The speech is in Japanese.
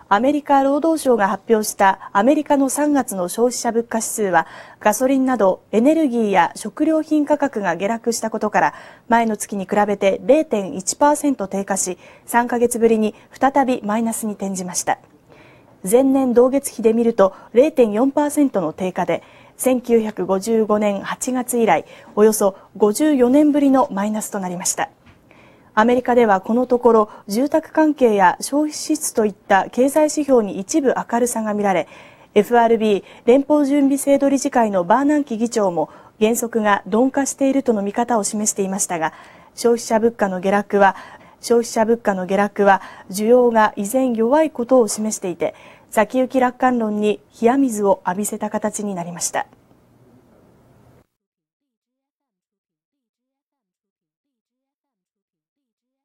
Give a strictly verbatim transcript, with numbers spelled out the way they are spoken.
アメリカ労働省が発表したアメリカのさんがつの消費者物価指数は、ガソリンなどエネルギーや食料品価格が下落したことから、前の月に比べて れいてんいちパーセント 低下し、さんかげつぶりに再びマイナスに転じました。前年同月比で見ると れいてんよんパーセント の低下で、せんきゅうひゃくごじゅうごねんはちがつ以来、およそごじゅうよねんぶりのマイナスとなりました。アメリカではこのところ住宅関係や消費支出といった経済指標に一部明るさが見られ、 エフアールビー 連邦準備制度理事会のバーナンキ議長も減速が鈍化しているとの見方を示していましたが、消費者物価の下落は消費者物価の下落は需要が依然弱いことを示していて、先行き楽観論に冷や水を浴びせた形になりました。